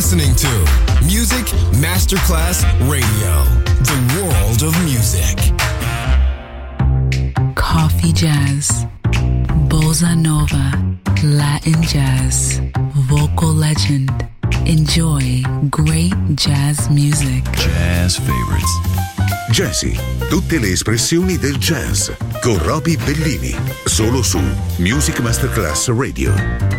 listening to Music Masterclass Radio, the world of music. Coffee jazz, bossa nova, Latin jazz, vocal legend. Enjoy great jazz music. Jazz favorites. Jazzy, tutte le espressioni del jazz con Roby Bellini, solo su Music Masterclass Radio.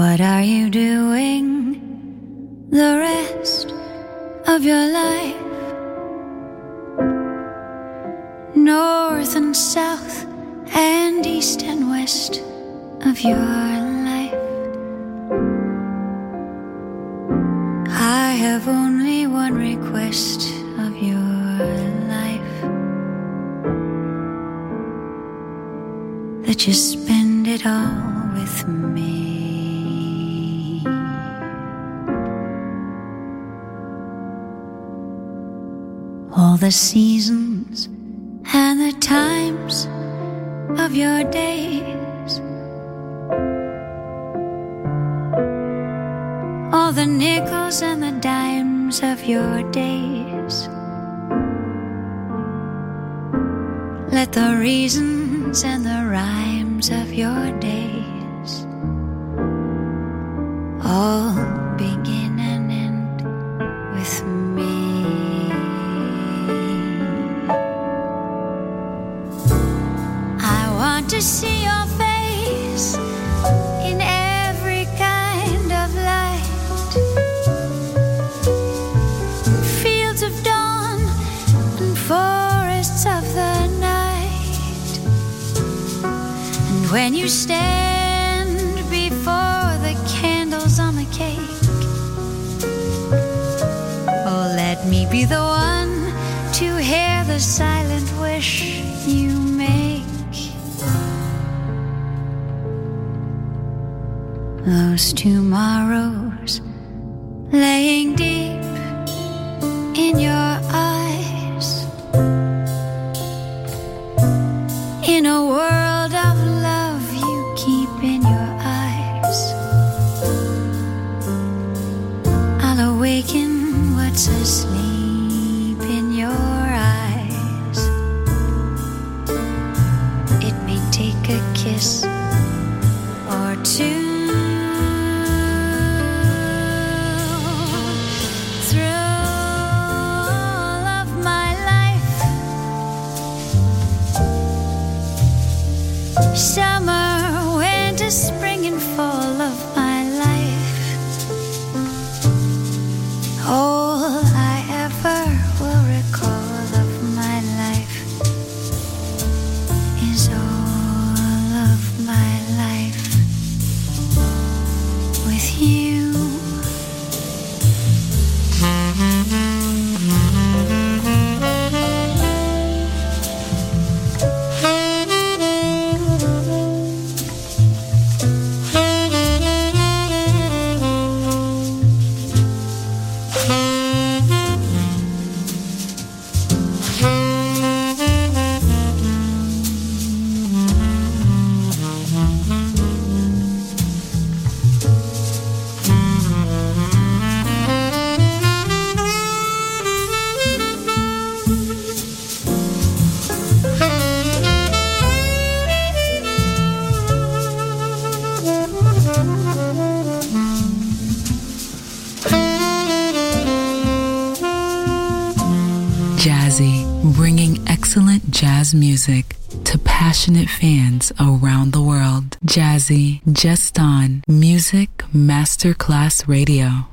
What are you doing the rest of your life? North and south and east and west of your life. I have only one request of your life, that you spend it all with me. All the seasons and the times of your days, all the nickels and the dimes of your days. Let the reasons and the rhymes of your days all begin and end with me. I want to see your face in every kind of light. Fields of dawn and forests of the night. And when you stand before the candles on the cake, oh, let me be the one to hear the silent wish you make. Those tomorrows laying deep in your eyes, in a world of love you keep in your eyes. I'll awaken what's asleep in your eyes. It may take a kiss or two. Summer, winter, spring, and fall of my life. All I ever will recall of my life is all of my life with you. Jazzy, bringing excellent jazz music to passionate fans around the world. Jazzy, just on Music Masterclass Radio.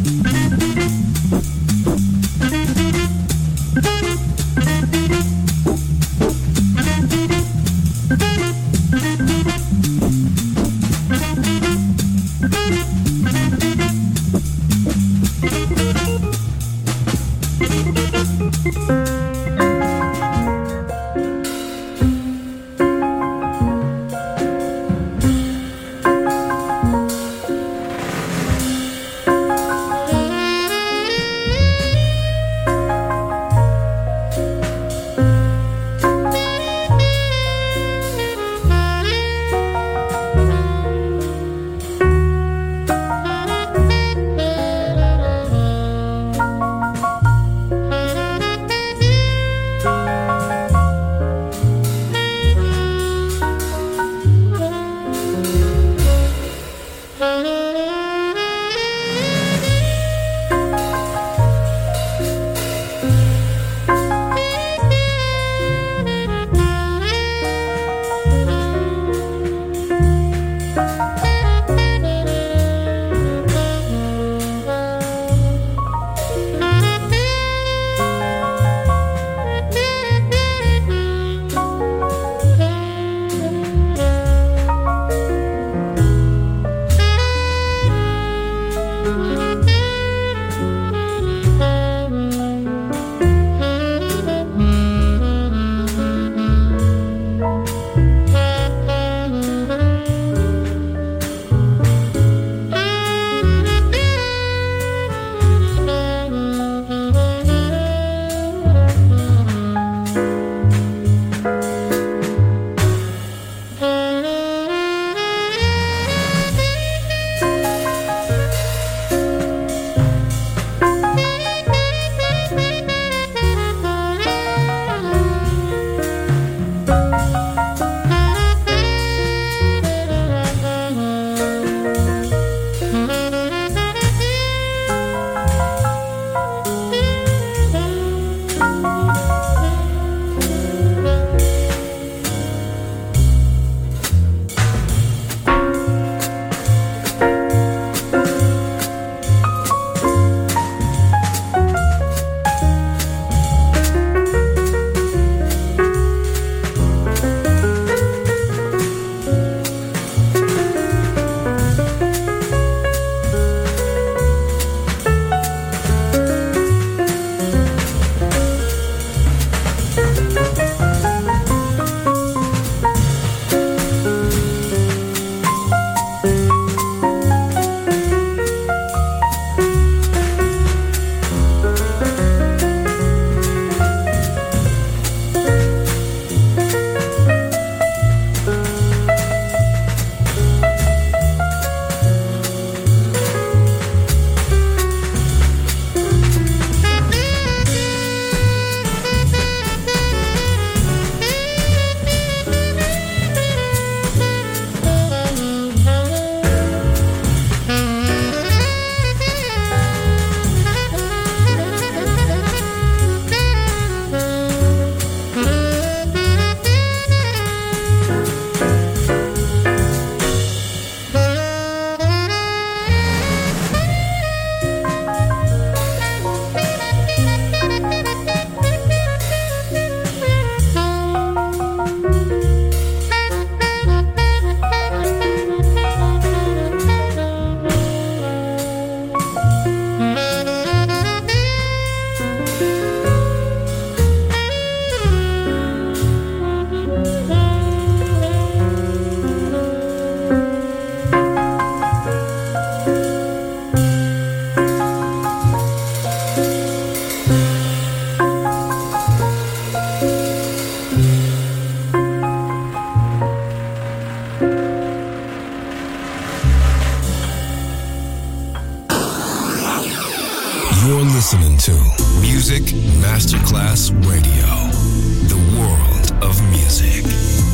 You're listening to Music Masterclass Radio, the world of music.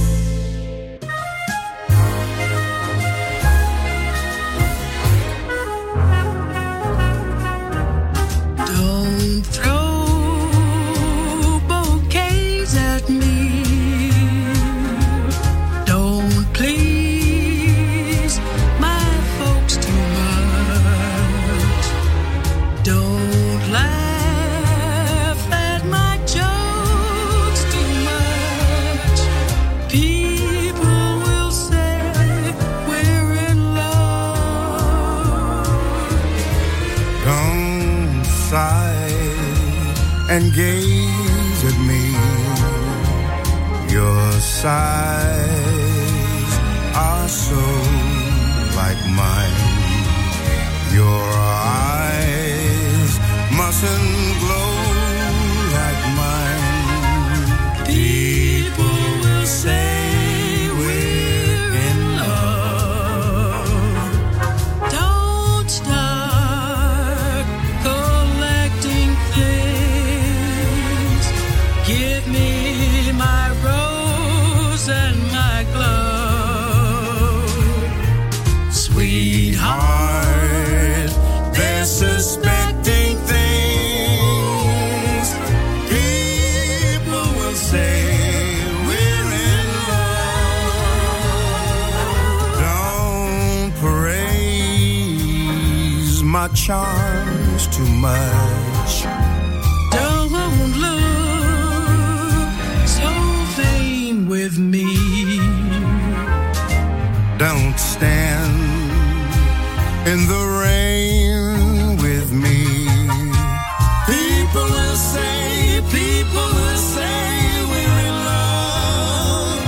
Don't throw bouquets at me. Don't please my folks too much. Don't laugh at my jokes too much. People will say we're in love. Don't sigh and gaze at me. Your sighs are so like mine. Your eyes mustn't glow like mine. People will say we're in love. Don't start collecting things. Give me my rose and my glove. Sweetheart, They're suspecting things. People will say we're in love. Don't praise my charms too much. don't look so vain with me. Don't stand in the rain with me. People will say we're in love.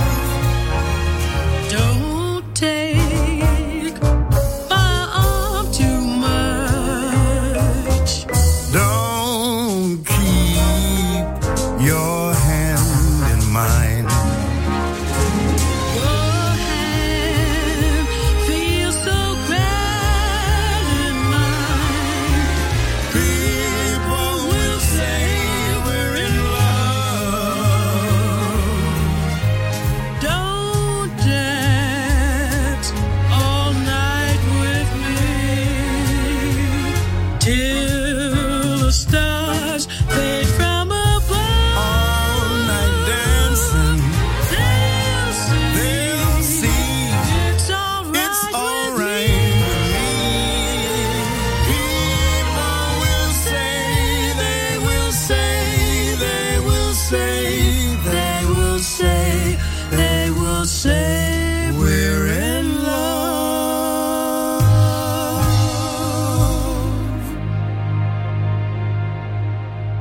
Don't take my arm too much. Don't keep your hand in mine. Your hand feels so grand in mine. People will say we're in love. Don't dance all night with me till the stars fade from above. All night dancing, They'll they'll see it's it's alright all with right with me. People will say, they will say, they will say, they will say, they will say we're in love.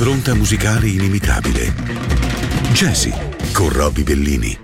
un'impronta musicale inimitabile. Jazzy con Roby Bellini.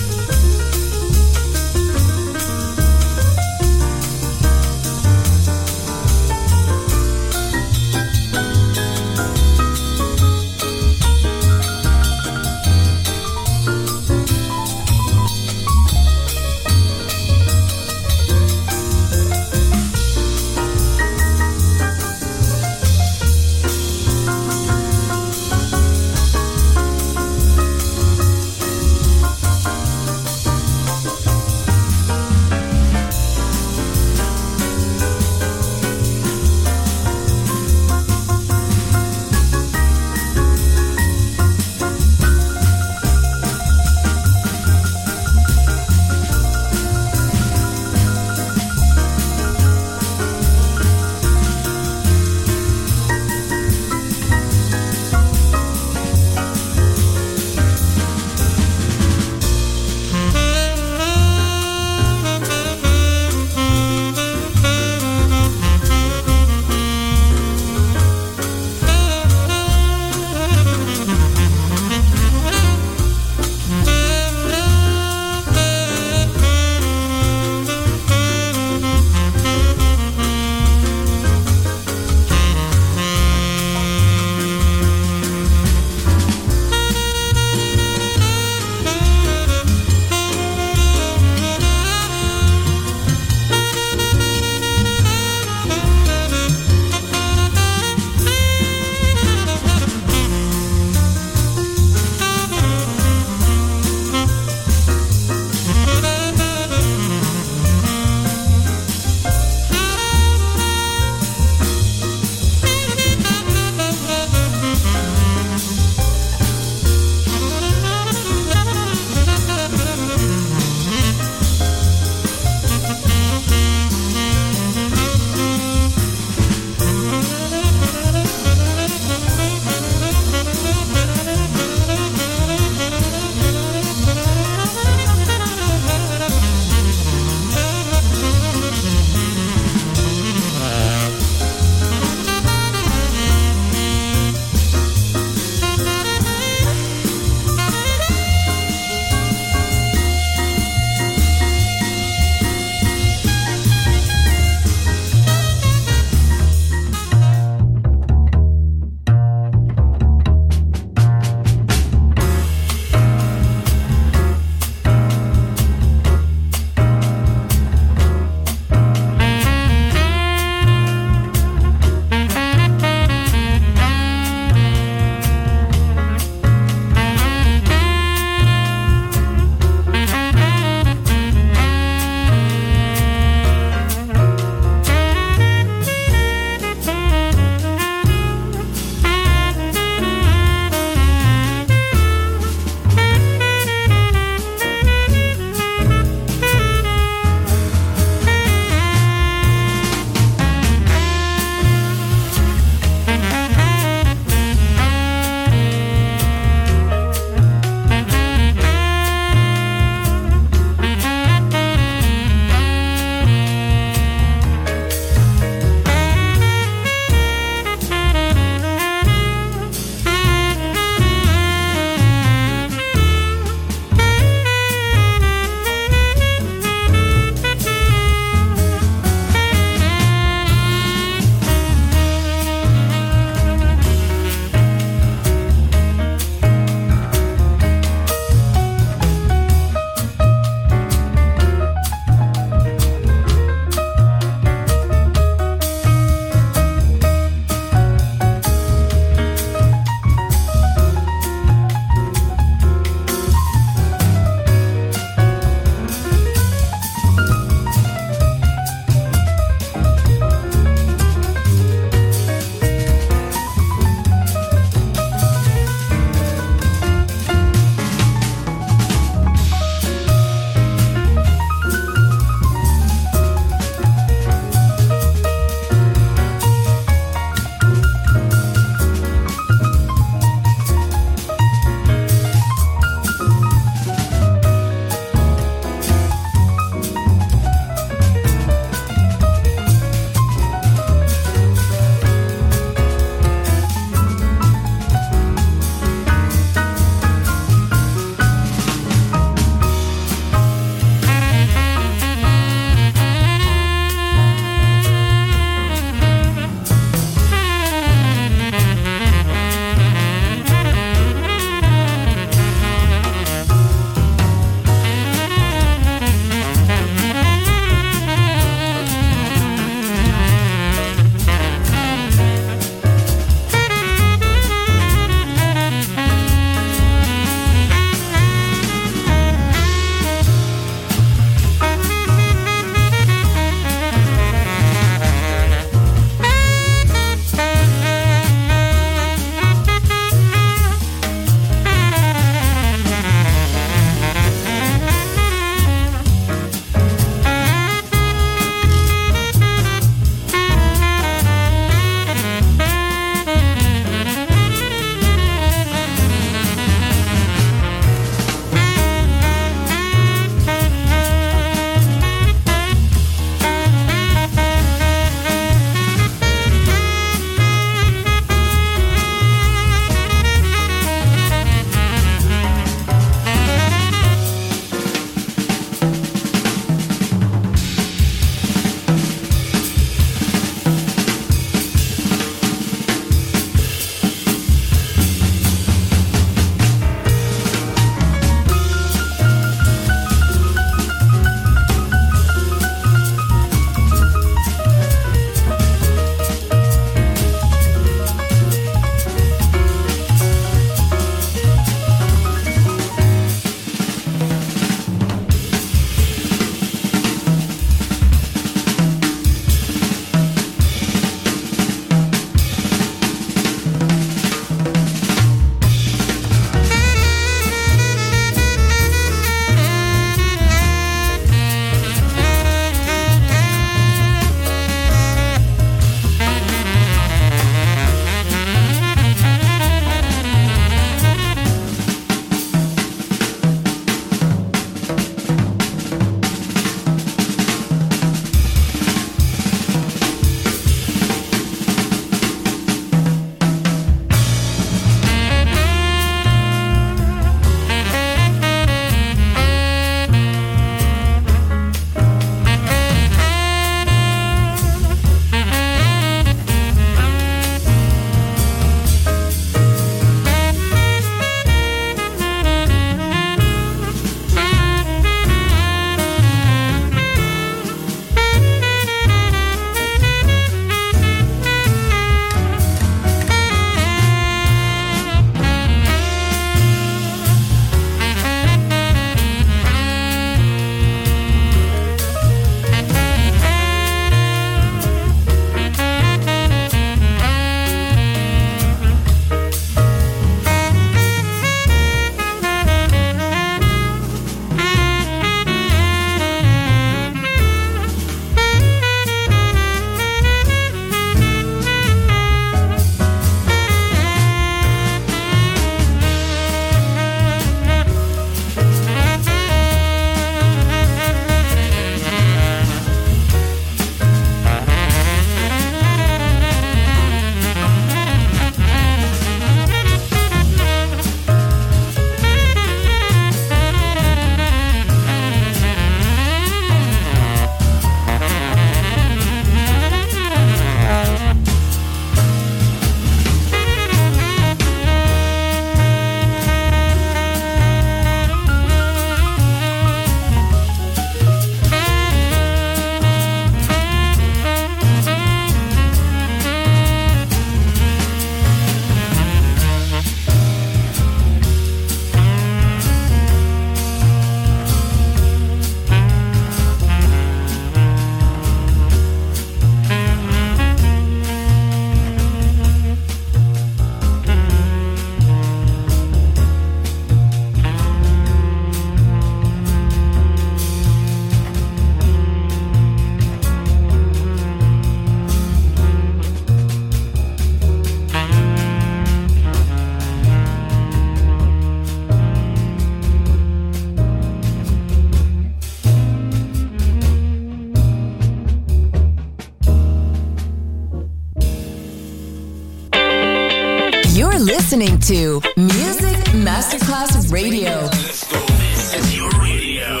listening to Music Masterclass Radio. This is your radio.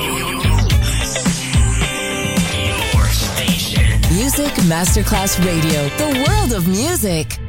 Your station. Music Masterclass Radio. The world of music.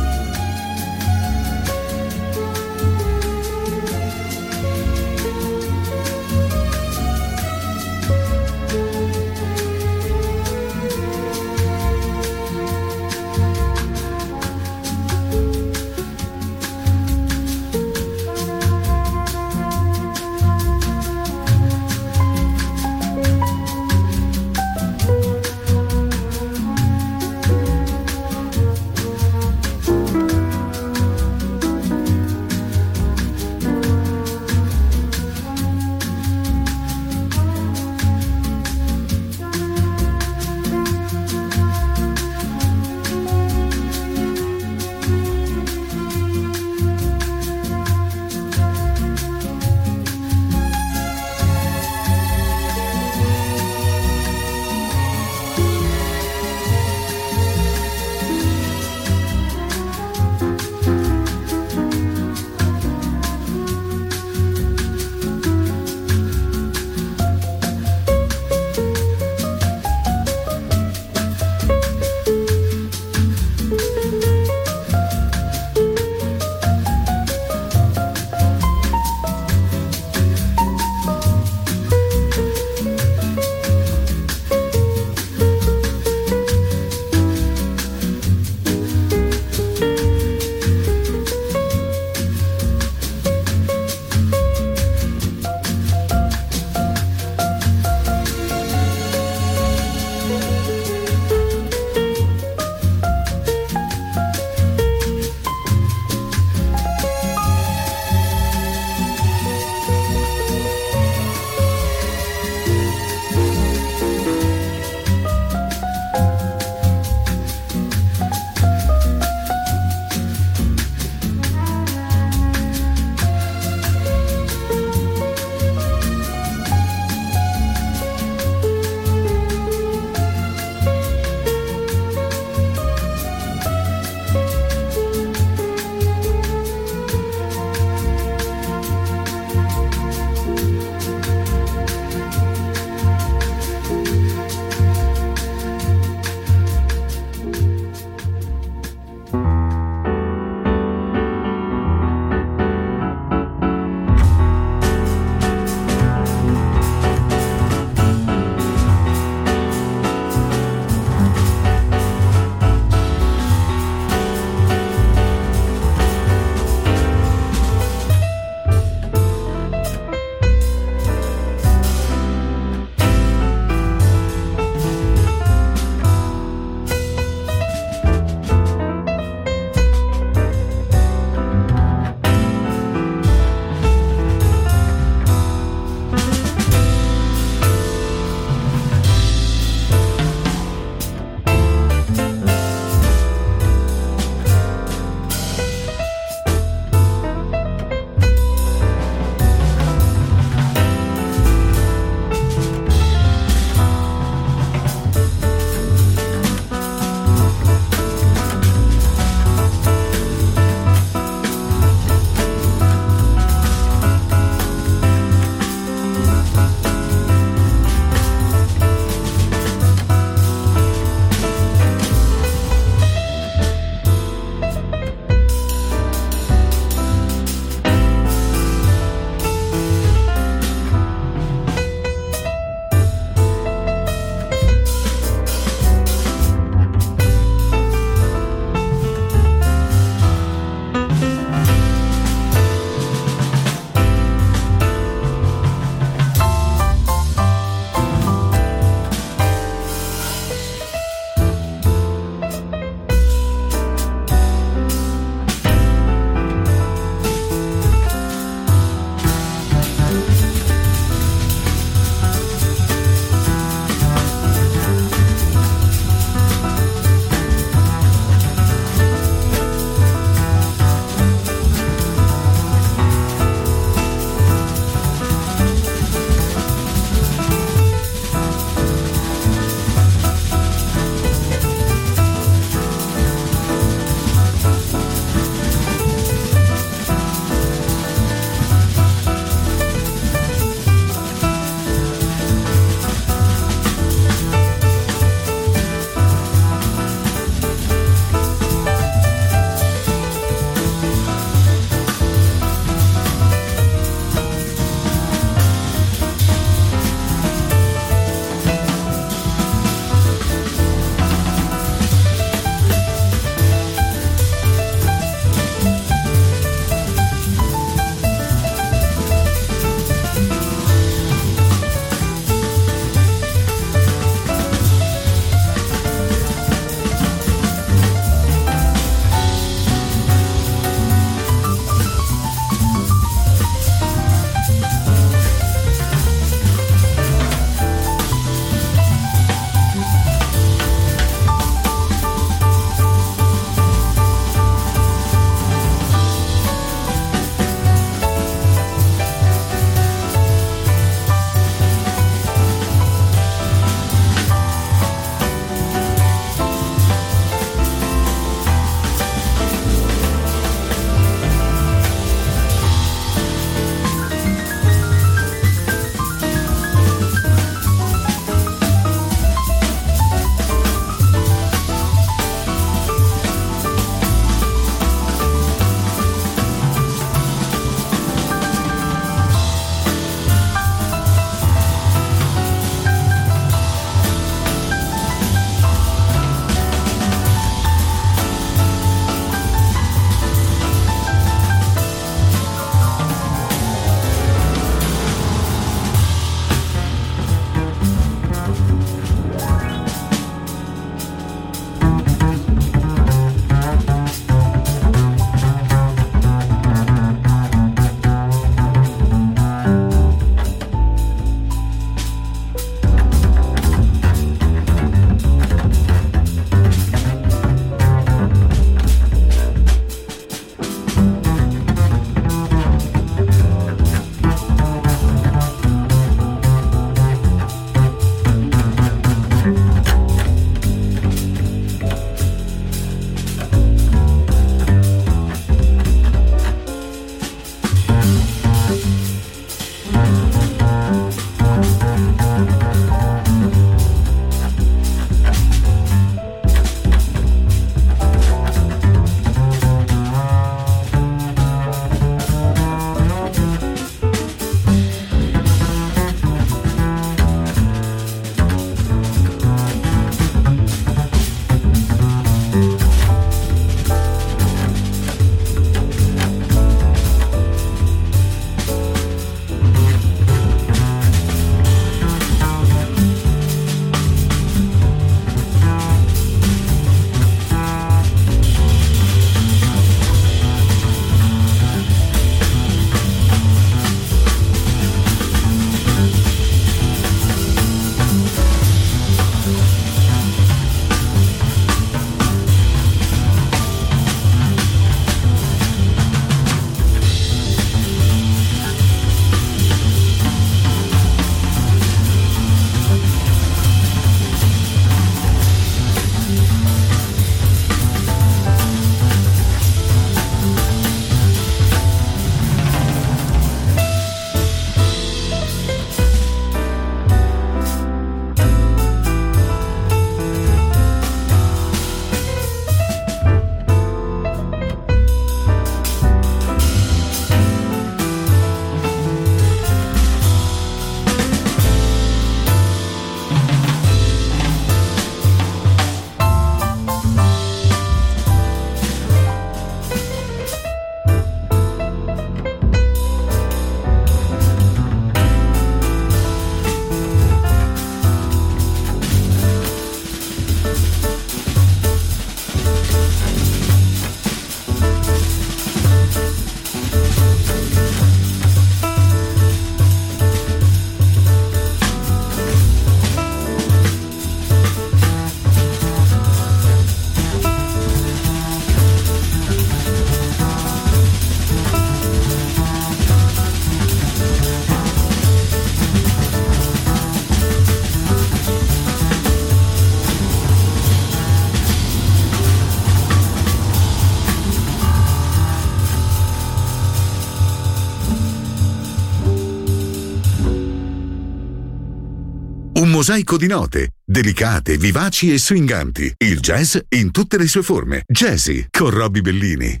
Un mosaico di note, delicate, vivaci e swinganti. Il jazz in tutte le sue forme. Jazzy con Roby Bellini.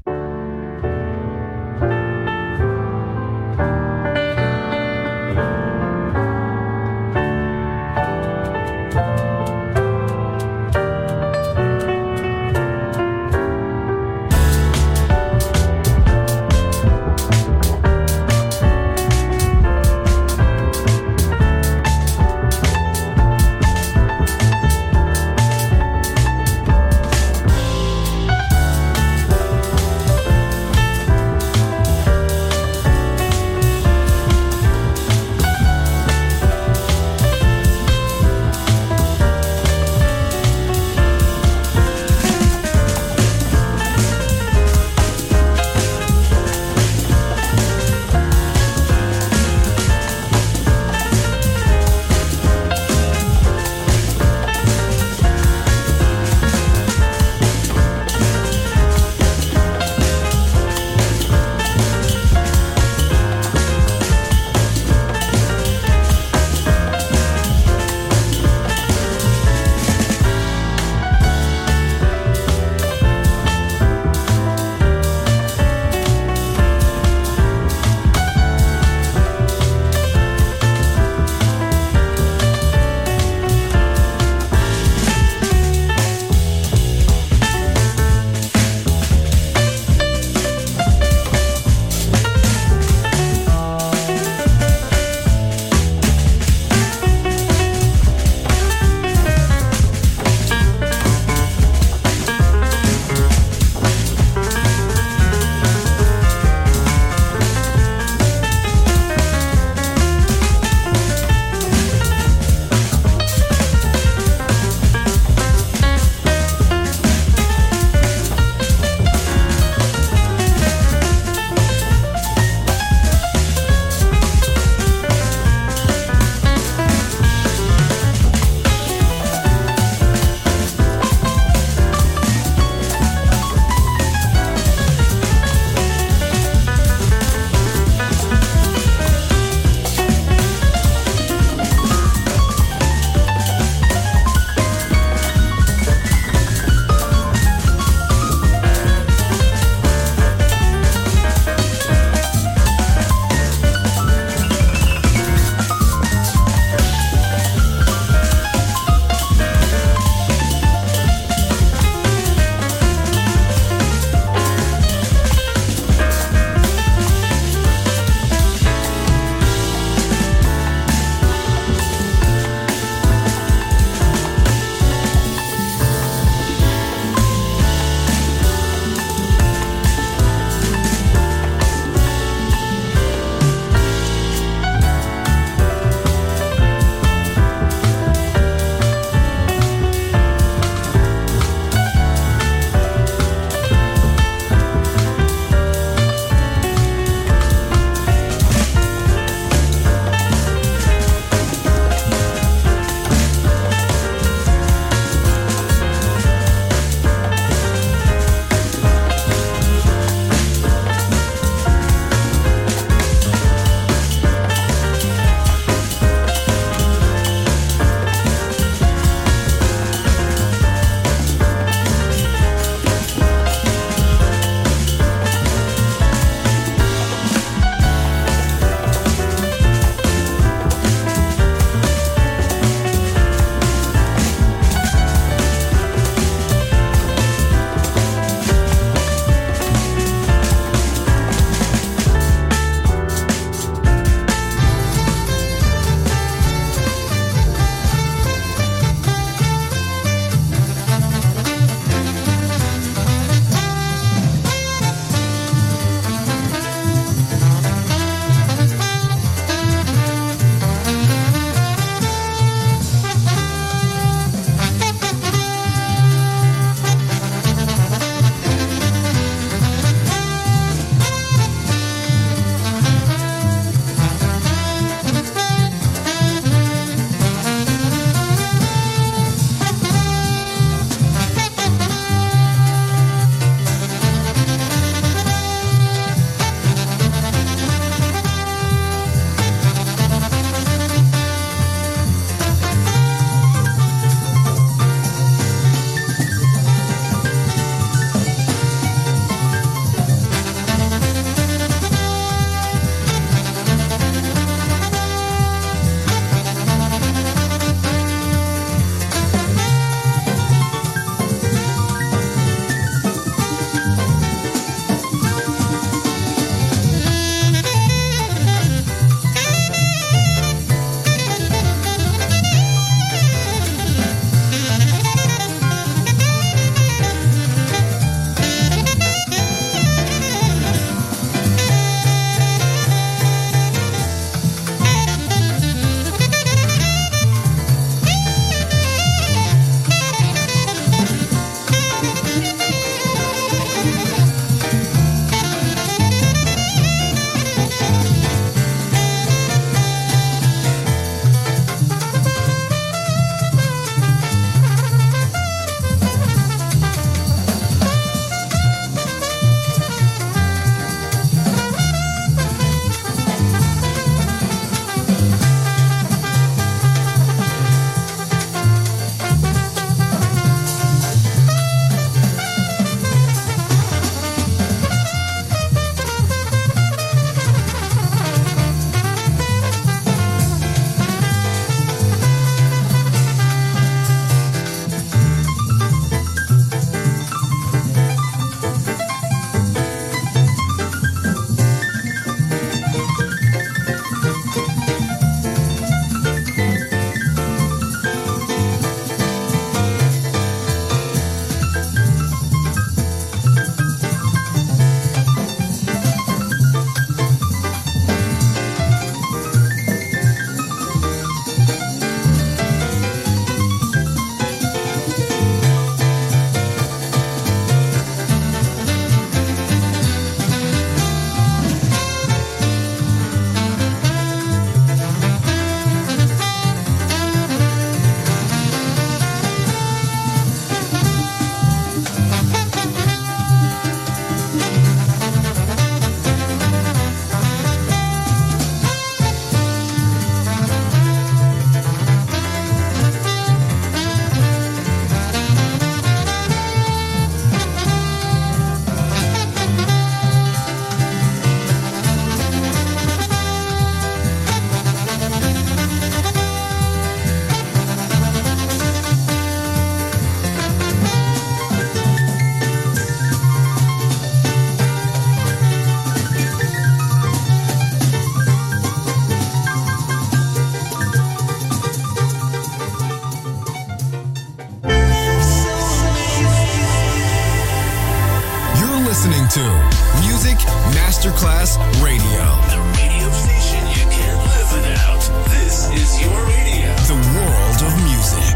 to Music Masterclass Radio. The radio station you can't live without. This is your radio. The world of music.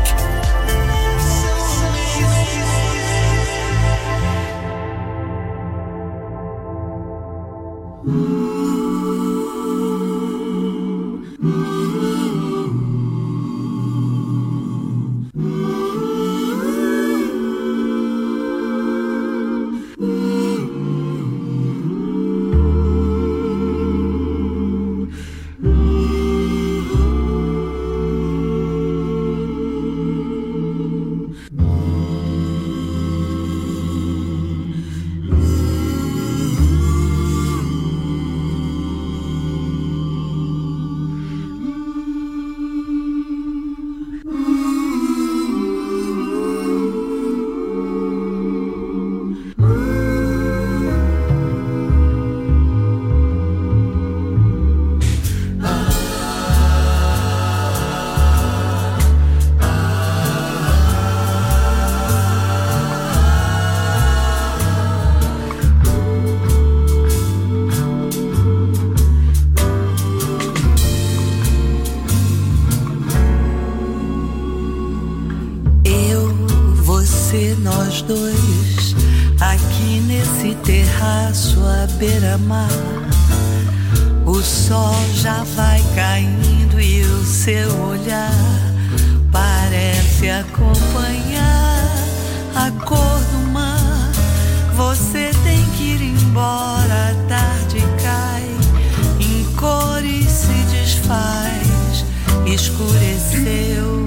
Nós dois, aqui nesse terraço à beira-mar. O sol já vai caindo e o seu olhar parece acompanhar a cor do mar. Você tem que ir embora, a tarde cai, em cores se desfaz, escureceu.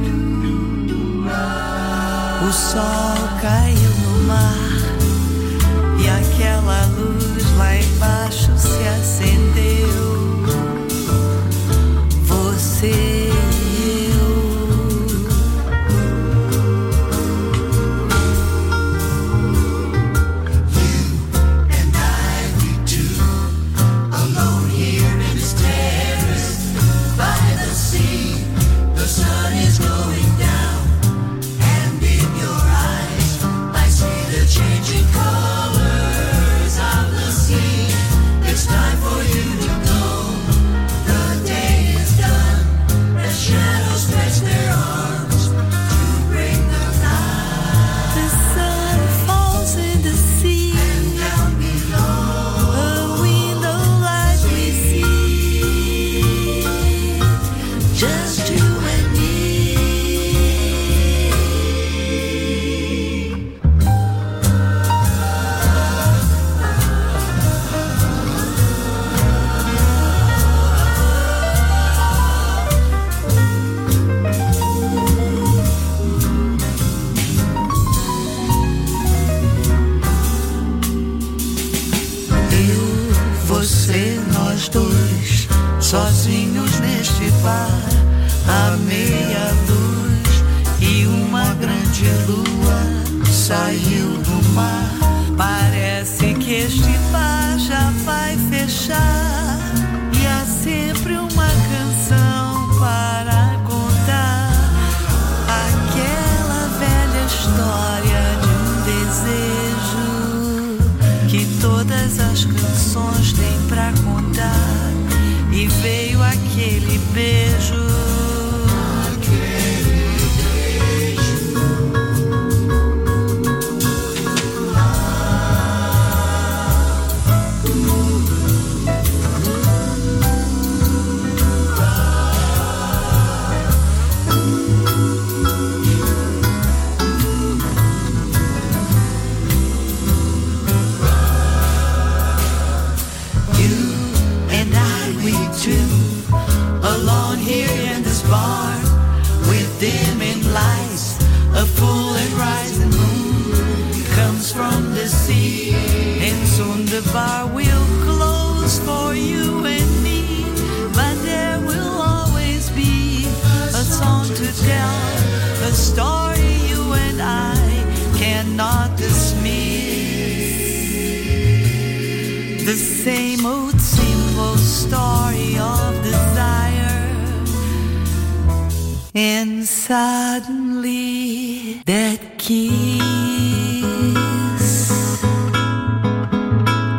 O sol caiu no mar e aquela luz lá embaixo se acendeu. Você e eu. You and I, we two, alone here in this terrace by the sea. The sun is going down. Changing colors of the sea. It's time for you to go. The day is done. The shadows stretch their arms to bring the light. The sun falls in the sea, and down below a window light we see. Just you and me. Nós dois, sozinhos neste bar, a meia luz e uma grande lua saiu do mar. Parece que este bar já vai fechar e há sempre uma canção para contar. Aquela velha história de um desejo que todas as canções têm pra contar. E veio aquele beijo. Alone here in this bar with dimming lights, a full and rising moon comes from the sea, and soon the bar will close for you and me, but there will always be a song to tell, a story you and I cannot dismiss. The same old simple story of desire, and suddenly that kiss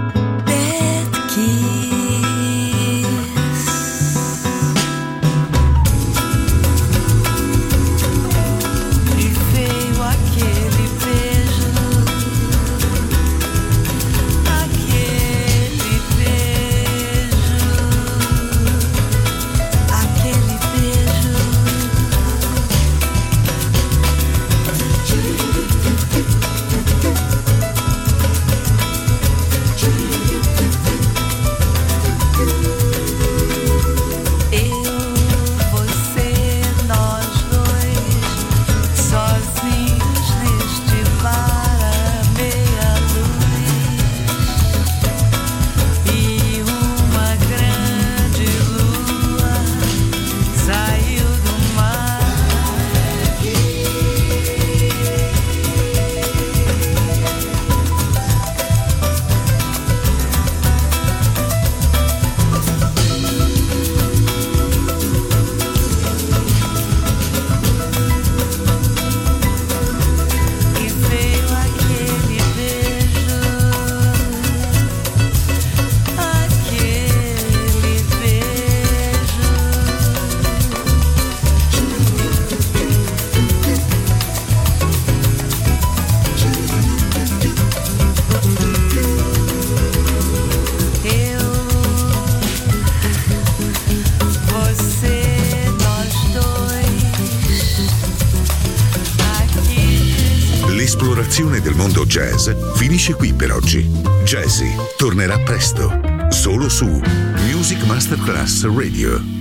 L'esplorazione del mondo jazz finisce qui per oggi. Jazzy tornerà presto, solo su Music Masterclass Radio.